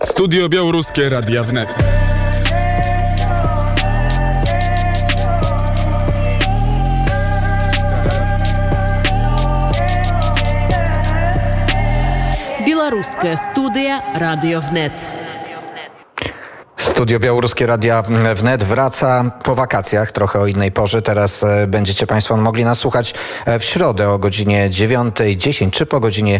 Studio Białoruskie Radia Wnet. Белорусская студия Radio Wnet. Studio Białoruskie Radia Wnet wraca po wakacjach, trochę o innej porze. Teraz będziecie Państwo mogli nas słuchać w środę o godzinie 9:10 czy po godzinie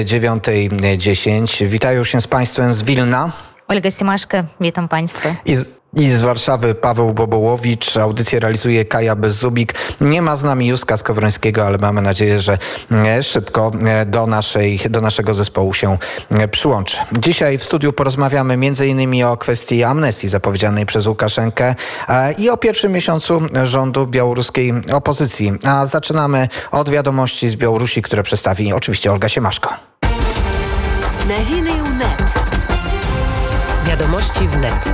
9:10. Witają się z Państwem z Wilna Olga Simaszka, witam Państwa. I z Warszawy Paweł Bobołowicz. Audycję realizuje Kaja Bezzubik. Nie ma z nami Józka Skowrońskiego, ale mamy nadzieję, że szybko do naszego zespołu się przyłączy. Dzisiaj w studiu porozmawiamy m.in. o kwestii amnestii zapowiedzianej przez Łukaszenkę i o pierwszym miesiącu rządu białoruskiej opozycji. A zaczynamy od wiadomości z Białorusi, które przedstawi oczywiście Olga Siemaszko. Nowiny wnet. Wiadomości wnet.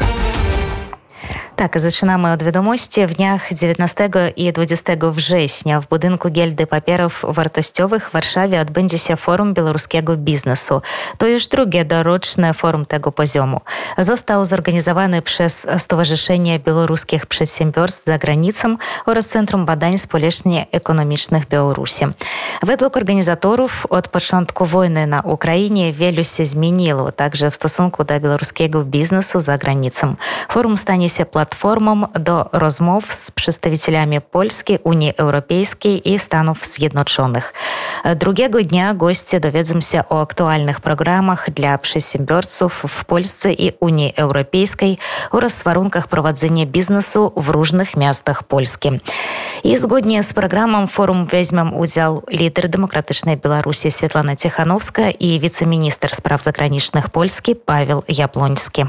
Tak, zaczynamy od wiadomości. W dniach 19 i 20 września w budynku Gildy Papierów Wartościowych w Warszawie odbędzie się Forum Białoruskiego Biznesu. To już drugie doroczne forum tego poziomu. Został zorganizowany przez Stowarzyszenie Białoruskich Przedsiębiorstw za granicą oraz Centrum Badań Społeczno-Ekonomicznych Białorusi. Według organizatorów od początku wojny na Ukrainie wiele się zmieniło, także w stosunku do białoruskiego biznesu za granicą. Forum stanie się platformą do rozmów z przedstawicielami Polski, Unii Europejskiej i Stanów Zjednoczonych. Drugiego dnia goście dowiedzą się o aktualnych programach dla przedsiębiorców w Polsce i Unii Europejskiej oraz warunkach prowadzenia biznesu w różnych miastach Polski. I zgodnie z programem forum weźmą udział lider Demokratycznej Białorusi Swietlana Cichanowska i wiceminister spraw zagranicznych Polski Paweł Jabłoński.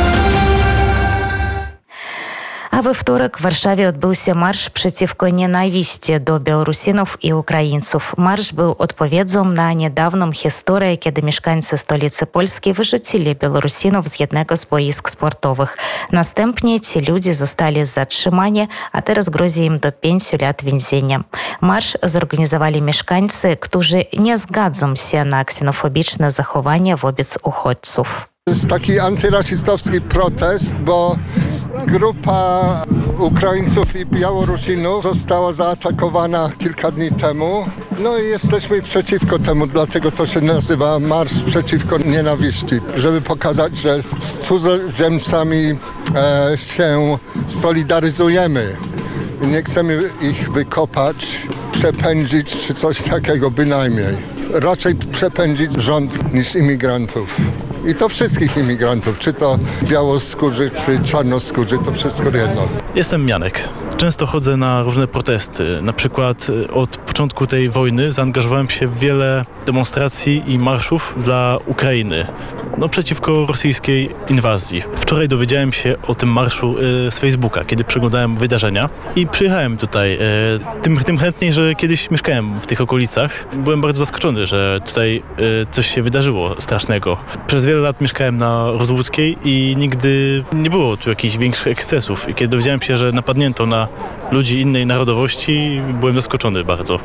A we wtorek w Warszawie odbył się marsz przeciwko nienawiści do Białorusinów i Ukraińców. Marsz był odpowiedzią na niedawną historię, kiedy mieszkańcy stolicy Polski wyrzucili Białorusinów z jednego z boisk sportowych. Następnie ci ludzie zostali zatrzymani, a teraz grozi im do 5 lat więzienia. Marsz zorganizowali mieszkańcy, którzy nie zgadzą się na ksenofobiczne zachowania wobec uchodźców. To jest taki antyrasistowski protest, bo grupa Ukraińców i Białorusinów została zaatakowana kilka dni temu. No i jesteśmy przeciwko temu, dlatego to się nazywa Marsz Przeciwko Nienawiści, żeby pokazać, że z cudzoziemcami się solidaryzujemy. Nie chcemy ich wykopać, przepędzić czy coś takiego bynajmniej. Raczej przepędzić rząd niż imigrantów. I to wszystkich imigrantów, czy to białoskórzy, czy czarnoskórzy, to wszystko jedno. Jestem Janek. Często chodzę na różne protesty. Na przykład od początku tej wojny zaangażowałem się w wiele demonstracji i marszów dla Ukrainy. Przeciwko rosyjskiej inwazji. Wczoraj dowiedziałem się o tym marszu z Facebooka, kiedy przeglądałem wydarzenia i przyjechałem tutaj. Tym chętniej, że kiedyś mieszkałem w tych okolicach. Byłem bardzo zaskoczony, że tutaj coś się wydarzyło strasznego. Przez wiele lat mieszkałem na Rozłuckiej i nigdy nie było tu jakichś większych ekscesów. I kiedy dowiedziałem się, że napadnięto na ludzi innej narodowości, byłem zaskoczony bardzo.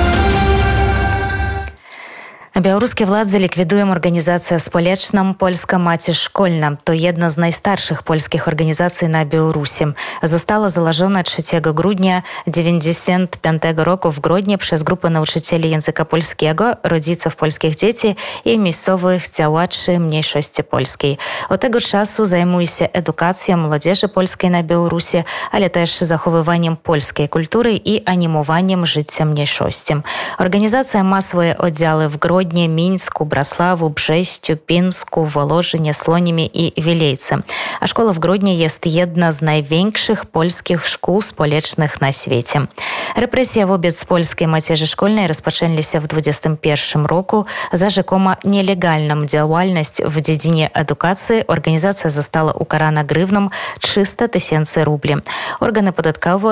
Białoruskie władze likwidują organizację społeczną Polska Macie Szkolna. To jedna z najstarszych polskich organizacji na Białorusi. Została założona 3 grudnia 1995 roku w Grodnie przez grupę nauczycieli języka polskiego, rodziców polskich dzieci i miejscowych działaczy mniejszości polskiej. Od tego czasu zajmuje się edukacją młodzieży polskiej na Białorusi, ale też zachowywaniem polskiej kultury i animowaniem życia mniejszości. Organizacja ma swoje oddziały w Grodnie, Mińsku, Brasławu, Brześciu, Pińsku, Wołożynie, Słonimie i Wielejce. A szkoła w Grodnie jest jedna z największych polskich szkół społecznych na świecie. Represje wobec polskiej macierzy szkolnej rozpoczęli się w 2021 roku. Za rzekomo nielegalną działalność w dziedzinie edukacji organizacja została ukarana grzywną 300 000 rubli. Organy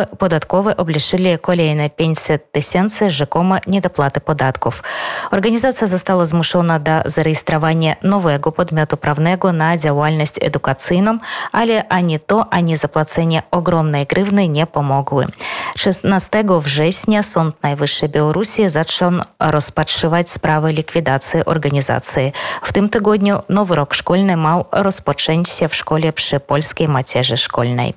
podatkowe obliczyli kolejne 500 000 rzekomo niedopłaty podatków. Organizacja Organizacja została zmuszona do zarejestrowania nowego podmiotu prawnego na działalność edukacyjną, ale ani to, ani zapłacenie ogromnej grywny nie pomogły. 16 września Sąd Najwyższy Białorusi zaczął rozpatrywać sprawę likwidacji organizacji. W tym tygodniu nowy rok szkolny miał rozpocząć się w szkole przy Polskiej Macierzy Szkolnej.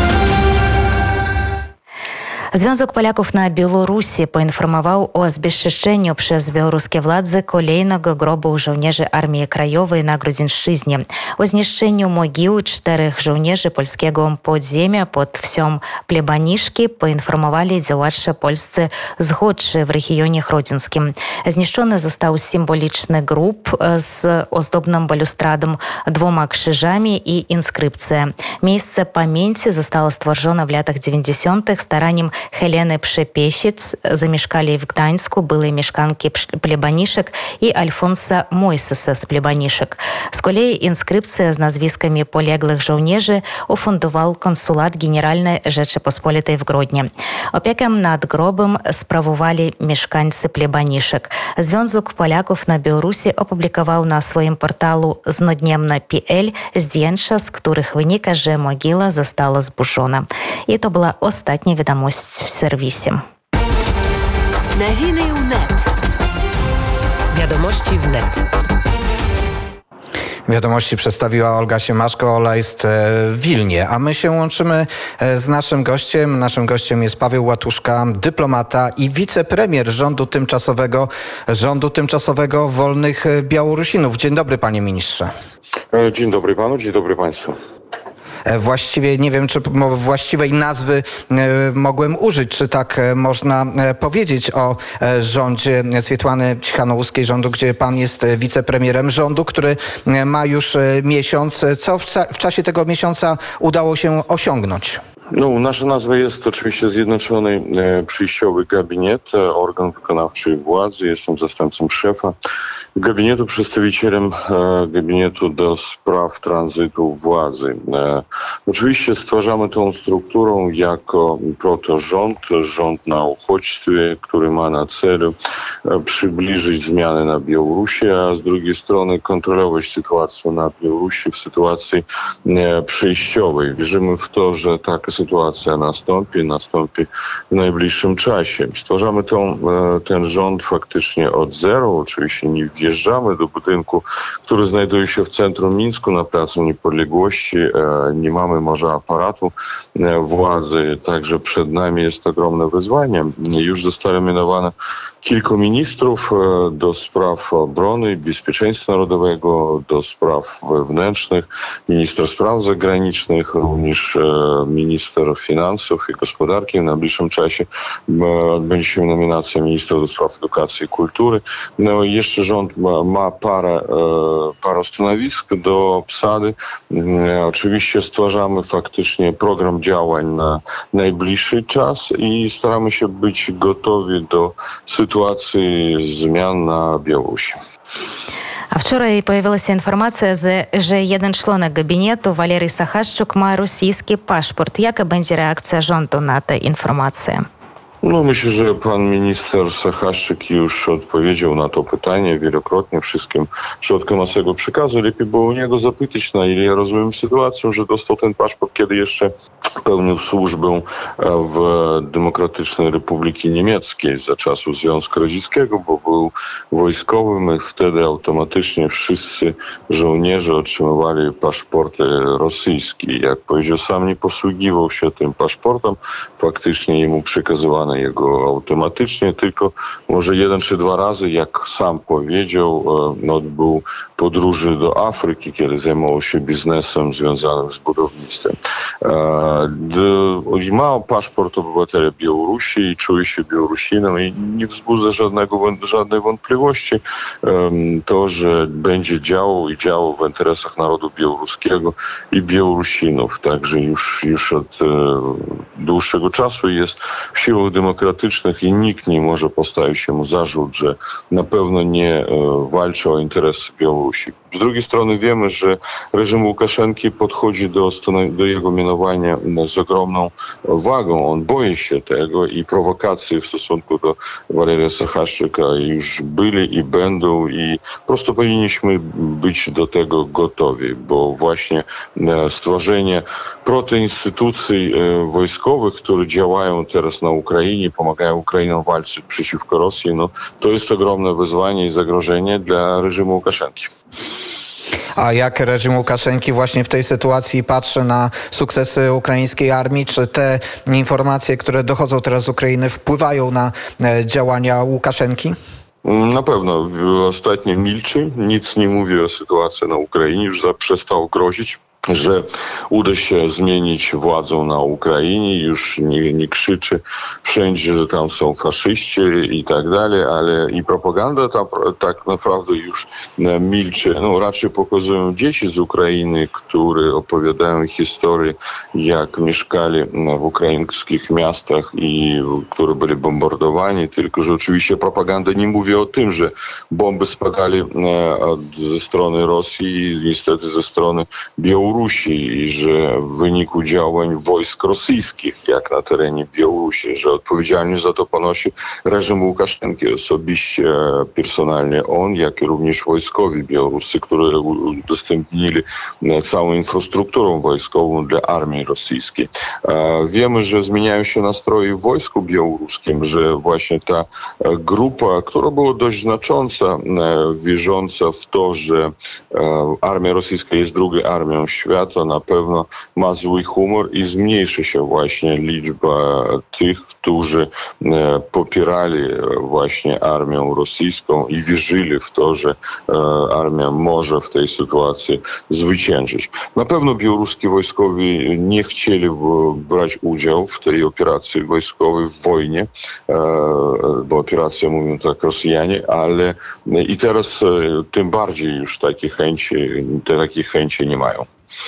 Związek Polaków na Białorusi poinformował o zbezczeszczeniu przez białoruskie władze kolejnego grobu żołnierzy Armii Krajowej na Grudzińszczyźnie. O zniszczeniu mogiły 4 żołnierzy polskiego podziemia pod wsią Plebaniszki poinformowali działacze polscy zchodczy w regionie chrodzińskim. Zniszczony został symboliczny grób z ozdobną balustradą, 2 krzyżami i inskrypcją. Miejsce pamięci zostało stworzone w latach 90. staraniem Heleny Przepiesic. Zamieszkali w Gdańsku były mieszkanki Plebaniszek i Alfonsa Mojsesa z Plebaniszek. Z kolei inskrypcję z nazwiskami poległych żołnierzy ufundował Konsulat Generalny Rzeczypospolitej w Grodnie. Opiekę nad grobem sprawowali mieszkańcy Plebaniszek. Związek Polaków na Białorusi opublikował na swoim portalu znodniemna.pl zdjęcia, z których wynika, że mogiła została zburzona. I to była ostatnia wiadomość w serwisie. Nowiny UNET. Wiadomości wnet. Wiadomości przedstawiła Olga Siemaszko. Ola jest w Wilnie, a my się łączymy z naszym gościem. Naszym gościem jest Paweł Łatuszka, dyplomata i wicepremier rządu tymczasowego Wolnych Białorusinów. Dzień dobry, panie ministrze. Dzień dobry panu, dzień dobry państwu. Właściwie nie wiem, czy właściwej nazwy mogłem użyć, czy tak można powiedzieć o rządzie Swietłany Cichanołuskiej, rządu, gdzie pan jest wicepremierem, rządu, który ma już miesiąc. Co w czasie tego miesiąca udało się osiągnąć? Nasza nazwa jest oczywiście Zjednoczony Przejściowy Gabinet, organ wykonawczy władzy. Jestem zastępcą szefa gabinetu, przedstawicielem gabinetu do spraw tranzytu władzy. Oczywiście stwarzamy tą strukturę jako rząd na uchodźstwie, który ma na celu przybliżyć zmiany na Białorusi, a z drugiej strony kontrolować sytuację na Białorusi w sytuacji przejściowej. Wierzymy w to, że taka sytuacja nastąpi w najbliższym czasie. Stwarzamy ten rząd faktycznie od zera. Oczywiście nie wjeżdżamy do budynku, który znajduje się w centrum Mińsku na Placu Niepodległości. Nie mamy może aparatu władzy, także przed nami jest ogromne wyzwanie. Już zostało mianowane kilku ministrów do spraw obrony i bezpieczeństwa narodowego, do spraw wewnętrznych, minister spraw zagranicznych, również minister finansów i gospodarki. W najbliższym czasie odbędzie się nominacja ministra do spraw edukacji i kultury. Jeszcze rząd ma parę stanowisk do obsady. Oczywiście stwarzamy faktycznie program działań na najbliższy czas i staramy się być gotowi do sytuacji zmian na Białorusi. A wczoraj pojawiła się informacja, że jeden członek gabinetu, Walery Sachaszczuk, ma rosyjski paszport. Jaka będzie reakcja rządu na tę informację? Myślę, że pan minister Sachaszczyk już odpowiedział na to pytanie wielokrotnie wszystkim środkom masowego przekazu. Lepiej było u niego zapytać, na ile ja rozumiem sytuację, że dostał ten paszport, kiedy jeszcze pełnił służbę w Demokratycznej Republice Niemieckiej za czasów Związku Radzieckiego, bo był wojskowym i wtedy automatycznie wszyscy żołnierze otrzymywali paszporty rosyjskie. Jak powiedział, sam nie posługiwał się tym paszportem, faktycznie jemu przekazywano jego automatycznie, tylko może 1 czy 2 razy, jak sam powiedział, odbył podróży do Afryki, kiedy zajmował się biznesem związanym z budownictwem. Ma paszport obywatela Białorusi i czuje się Białorusinem i nie wzbudza żadnej wątpliwości to, że będzie działał w interesach narodu białoruskiego i Białorusinów. Także już od dłuższego czasu jest w siłach demokratycznych i nikt nie może postawić się mu zarzut, że na pewno nie walczy o interesy Białorusi. Z drugiej strony wiemy, że reżim Łukaszenki podchodzi do jego mianowania z ogromną wagą. On boi się tego i prowokacje w stosunku do Waleria Sachaszczyka już byli i będą i po prostu powinniśmy być do tego gotowi, bo właśnie stworzenie protoinstytucji wojskowych, które działają teraz na Ukrainie, pomagają Ukrainom walczyć przeciwko Rosji, no to jest ogromne wyzwanie i zagrożenie dla reżimu Łukaszenki. A jak reżim Łukaszenki właśnie w tej sytuacji patrzy na sukcesy ukraińskiej armii? Czy te informacje, które dochodzą teraz z Ukrainy, wpływają na działania Łukaszenki? Na pewno. Ostatnio milczy, nic nie mówi o sytuacji na Ukrainie, już przestał grozić, że uda się zmienić władzę na Ukrainie, już nie krzyczy wszędzie, że tam są faszyści i tak dalej, ale i propaganda tam tak naprawdę już milczy. No, raczej pokazują dzieci z Ukrainy, które opowiadają historię, jak mieszkali w ukraińskich miastach i które byli bombardowani, tylko że oczywiście propaganda nie mówi o tym, że bomby spadali ze strony Rosji i niestety ze strony Białorusi i że w wyniku działań wojsk rosyjskich, jak na terenie Białorusi, że odpowiedzialność za to ponosi reżim Łukaszenki osobiście, personalnie on, jak i również wojskowi białoruscy, którzy udostępnili całą infrastrukturę wojskową dla armii rosyjskiej. Wiemy, że zmieniają się nastroje w wojsku białoruskim, że właśnie ta grupa, która była dość znacząca, wierząca w to, że armia rosyjska jest drugą armią świata, na pewno ma zły humor i zmniejszy się właśnie liczba tych, którzy popierali właśnie armię rosyjską i wierzyli w to, że armia może w tej sytuacji zwyciężyć. Na pewno białoruscy wojskowi nie chcieli brać udziału w tej operacji wojskowej, w wojnie, bo operacja, mówią tak Rosjanie, ale i teraz tym bardziej już takich chęci nie mają.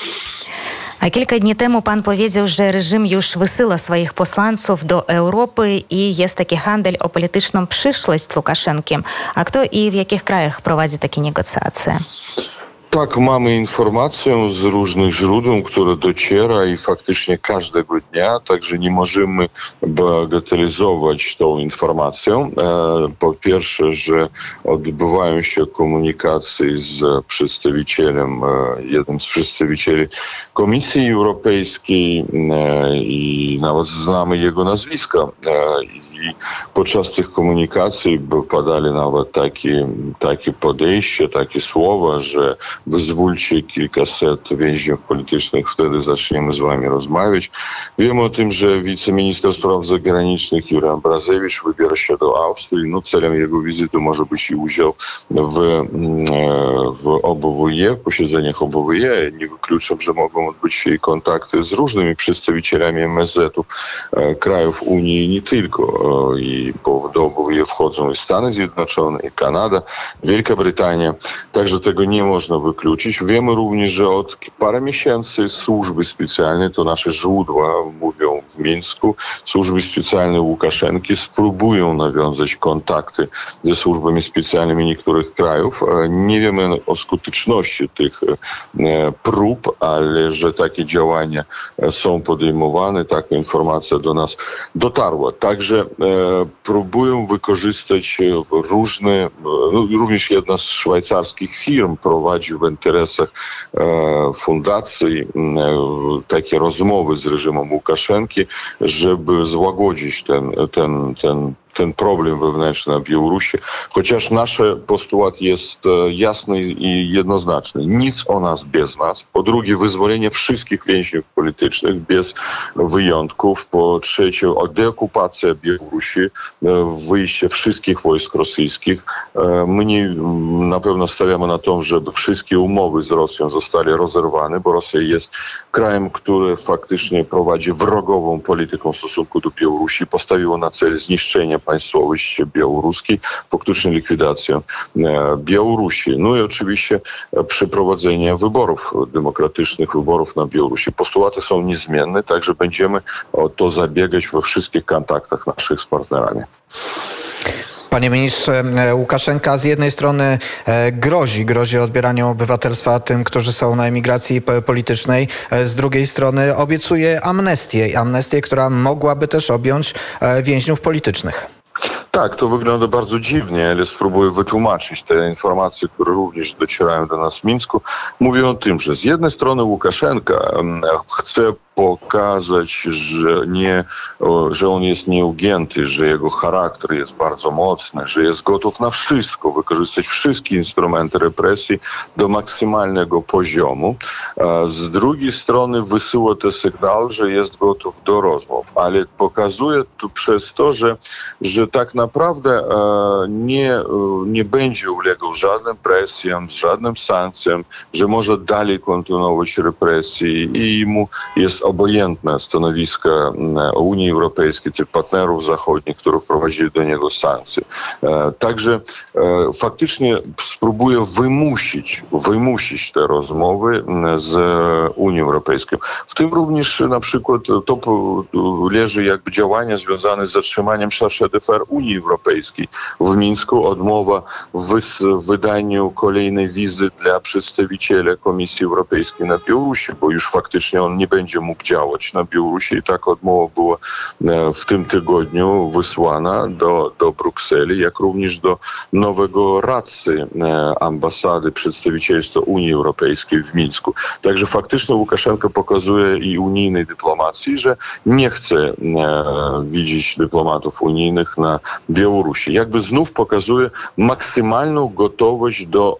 A kilka dni temu pan powiedział, że reżim już wysyła swoich posłańców do Europy i jest taki handel o polityczną przyszłość Łukaszenkiem. A kto i w jakich krajach prowadzi takie negocjacje? Tak, mamy informację z różnych źródeł, które dociera i faktycznie każdego dnia, także nie możemy bagatelizować tą informację. Po pierwsze, że odbywają się komunikacje z przedstawicielem, jednym z przedstawicieli Komisji Europejskiej i nawet znamy jego nazwiska. I podczas tych komunikacji padali nawet takie podejście, takie słowa, że wyzwólcie kilkaset więźniów politycznych, wtedy zaczniemy z wami rozmawiać. Wiemy o tym, że wiceminister spraw zagranicznych Juraj Ambrazewicz wybiera się do Austrii. No, celem jego wizyty może być i udział w OBWE, posiedzeniach OBWE. Nie wykluczam, że mogą odbyć się i kontakty z różnymi przedstawicielami MSZ-ów krajów Unii i nie tylko. Bo do OBWE wchodzą i Stany Zjednoczone, i Kanada, Wielka Brytania. Także tego nie można wykluczyć. Wiemy również, że od parę miesięcy służby specjalne, to nasze źródła mówią w Mińsku, służby specjalne Łukaszenki spróbują nawiązać kontakty ze służbami specjalnymi niektórych krajów. Nie wiemy o skuteczności tych prób, ale że takie działania są podejmowane, taka informacja do nas dotarła. Także próbują wykorzystać różne, również jedna z szwajcarskich firm prowadzi w interesach fundacji takie rozmowy z reżimem Łukaszenki, żeby złagodzić ten problem wewnętrzny na Białorusi, chociaż nasz postulat jest jasny i jednoznaczny. Nic o nas bez nas. Po drugie, wyzwolenie wszystkich więźniów politycznych bez wyjątków. Po trzecie, deokupacja Białorusi, wyjście wszystkich wojsk rosyjskich. My na pewno stawiamy na to, żeby wszystkie umowy z Rosją zostały rozerwane, bo Rosja jest krajem, który faktycznie prowadzi wrogową politykę w stosunku do Białorusi. Postawiło na cel zniszczenie państwowości białoruskiej, faktycznie likwidację Białorusi. No i oczywiście przeprowadzenie wyborów, demokratycznych wyborów na Białorusi. Postulaty są niezmienne, także będziemy o to zabiegać we wszystkich kontaktach naszych z partnerami. Panie ministrze, Łukaszenka z jednej strony grozi odbieraniem obywatelstwa tym, którzy są na emigracji politycznej, z drugiej strony obiecuje amnestię, która mogłaby też objąć więźniów politycznych. Tak, to wygląda bardzo dziwnie, ale spróbuję wytłumaczyć te informacje, które również docierają do nas w Mińsku. Mówią o tym, że z jednej strony Łukaszenka chce pokazać, że on jest nieugięty, że jego charakter jest bardzo mocny, że jest gotów na wszystko, wykorzystać wszystkie instrumenty represji do maksymalnego poziomu. Z drugiej strony wysyła ten sygnał, że jest gotów do rozmów, ale pokazuje to przez to, że tak naprawdę nie będzie ulegał żadnym presjom, żadnym sankcjom, że może dalej kontynuować represje i mu jest obojętne stanowisko Unii Europejskiej, tych partnerów zachodnich, którzy wprowadzili do niego sankcje. Także faktycznie spróbuje wymusić te rozmowy z Unią Europejską. W tym również na przykład to leży jakby działania związane z zatrzymaniem chargé d'affaires Unii Europejskiej w Mińsku, odmowa w wydaniu kolejnej wizy dla przedstawiciela Komisji Europejskiej na Białorusi, bo już faktycznie on nie będzie mógł działać na Białorusi i taka odmowa była w tym tygodniu wysłana do Brukseli, jak również do nowego radcy ambasady przedstawicielstwa Unii Europejskiej w Mińsku. Także faktycznie Łukaszenko pokazuje i unijnej dyplomacji, że nie chce widzieć dyplomatów unijnych na Białorusi. Jakby znów pokazuje maksymalną gotowość do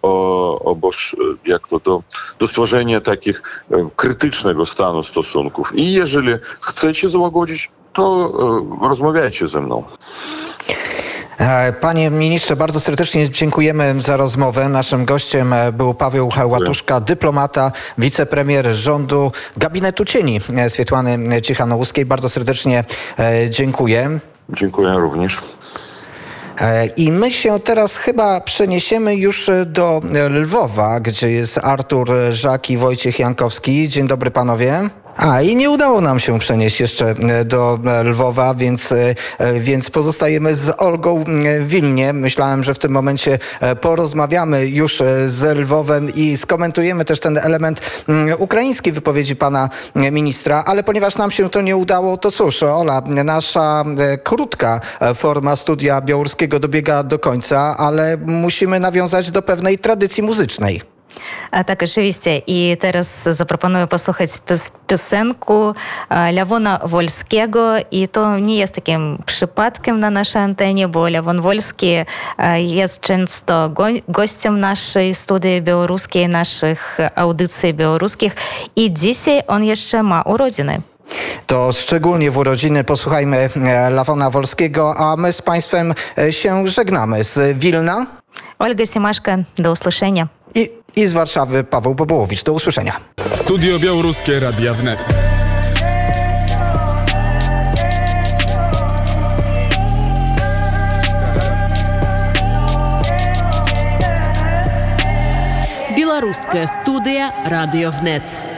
stworzenia takich krytycznego stanu stosunków. I jeżeli chcecie złagodzić, to rozmawiajcie ze mną. Panie ministrze, bardzo serdecznie dziękujemy za rozmowę. Naszym gościem był Paweł Łatuszka, dyplomata, wicepremier rządu Gabinetu Cieni Swiatłany Cichanouskiej. Bardzo serdecznie dziękuję. Dziękuję również. I my się teraz chyba przeniesiemy już do Lwowa, gdzie jest Artur Żak i Wojciech Jankowski. Dzień dobry panowie. I nie udało nam się przenieść jeszcze do Lwowa, więc pozostajemy z Olgą w Wilnie. Myślałem, że w tym momencie porozmawiamy już z Lwowem i skomentujemy też ten element ukraińskiej wypowiedzi pana ministra, ale ponieważ nam się to nie udało, to cóż, Ola, nasza krótka forma studia białoruskiego dobiega do końca, ale musimy nawiązać do pewnej tradycji muzycznej. Tak, oczywiście. I teraz zaproponuję posłuchać piosenku Lewona Wolskiego. I to nie jest takim przypadkiem na naszej antenie, bo Lewon Wolski jest często gościem naszej studii białoruskiej, naszych audycji białoruskich. I dzisiaj on jeszcze ma urodziny. To szczególnie w urodziny posłuchajmy Lewona Wolskiego, a my z państwem się żegnamy. Z Wilna Olga Siemaszka, do usłyszenia. I z Warszawy Paweł Bobołowicz. Do usłyszenia. Studio Białoruskie Radia Wnet. Белорусская студия «Радио ВНЕТ».